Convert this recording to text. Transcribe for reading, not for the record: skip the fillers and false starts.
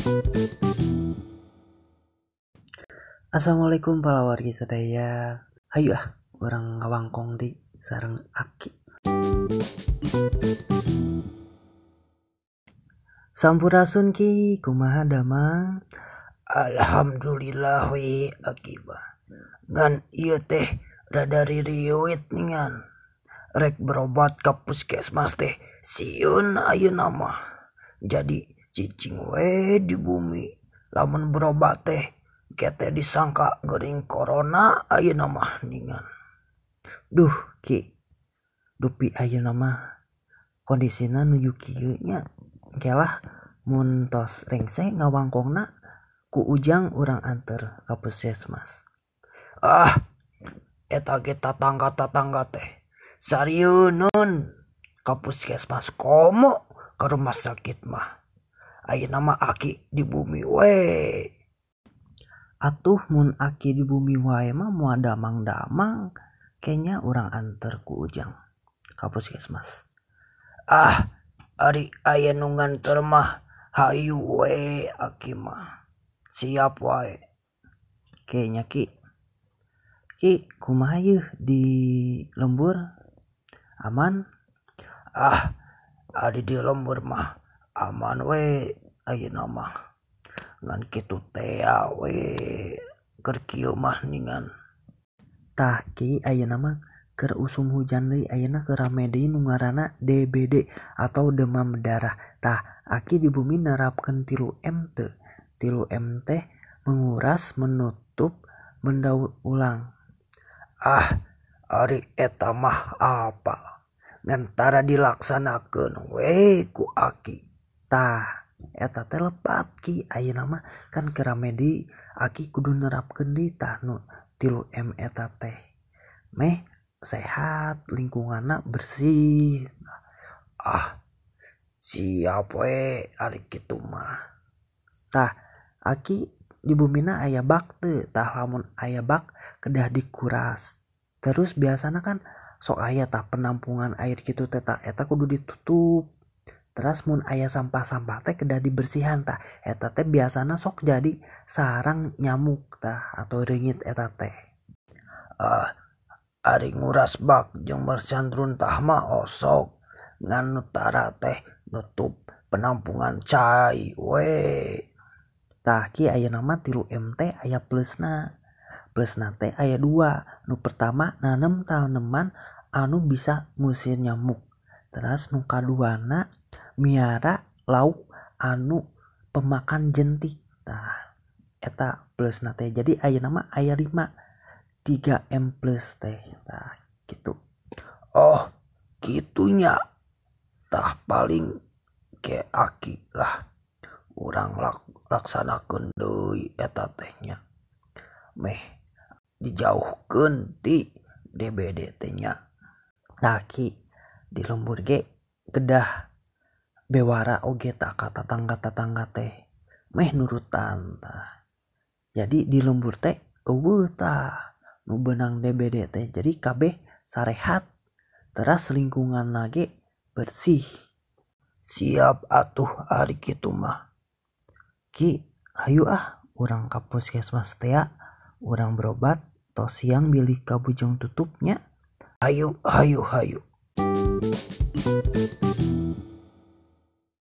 Assalamualaikum para wargi sadaya. Hayu orang ngawangkong di sareng Aki. Sampurasun ki kumaha damang? Alhamdulillah we akibat. Ngan iya teh rada ririwit ningan. Rek berobat ka puskesmas teh siun ayeuna mah. Jadi cicing we di bumi. Lamun berobat teh kete disangka gering corona ayeuna mah ningan. Duh ki, dupi ayeuna mah kondisina nuju kieu nya. Kelah mun tos rengse ngawangkongna ku ujang urang anter ka puskesmas. Eta ge tatangga teh sarieun ka puskesmas komo ka rumah sakit mah. Ayeuna mah Aki di bumi we. Atuh mun Aki di bumi wae mah moal damang-damang kayaknya urang anter ku ujang ka puskesmas. Ari aya nu nganter mah hayu we Aki mah. Siap wae. Kayaknya Ki kumaha yeuh di lembur? Aman? Ari di lembur mah aman we ayeuna mah. Ngan kitu teh we keur kieu mah ningan. Tah Ki ayeuna mah keur usum hujan deui, ayeuna keur rame deui nu ngaranna DBD atau demam berdarah. Tah Aki di bumi nerapkeun 3M teu? 3M teh menguras, menutup, mendaur ulang. Ari eta mah apa? Ngantara dilaksanakeun we ku Aki. Tah eta teh lepat Ki ayeuna mah kan keur rame deui, Aki kudu nerapkeun deui tah nu 3M eta teh. Meh sehat, lingkunganna bersih. Siap we ari kitu mah. Tah Aki di bumina aya bak teu? Tah lamun aya bak kedah dikuras. Terus biasana kan sok aya tah penampungan air kitu teh tah eta kudu ditutup. Terus mun aya sampah-sampah teh kedah dibersihan tah eta teh biasana sok jadi sarang nyamuk tah atau reungit eta teh. Ari nguras bak jeung bersihan runtah mah osok. Ngan nutara teh nutup penampungan cai we. Tah Ki ayeuna mah 3M teh aya plusna. Plusna teh aya 2. Nu pertama nanem tanaman anu bisa ngusir nyamuk. Terus nu kaduana miara lauk anu pemakan jentik. Tah eta plusna teh. Jadi ayeuna mah aya 5. 3M plus teh. Tah gitu. Oh gitunya. Tah paling ke Aki lah. Urang laksanakeun deui eta teh nya. Meh dijauhkeun ti DBD teh nya. Tah Ki di lembur ge kedah bewara oge tah ka tatangga-tatangga teh. Meh nurutan tah. Jadi di lembur teh eueuh tah nu beunang DBD teh. Jadi kabeh sarehat. Teras lingkungan ge bersih. Siap atuh ari kitu mah. Ki hayu urang ka puskesmas teh urang berobat tos siang bilih ka bujang tutupnya. Hayu.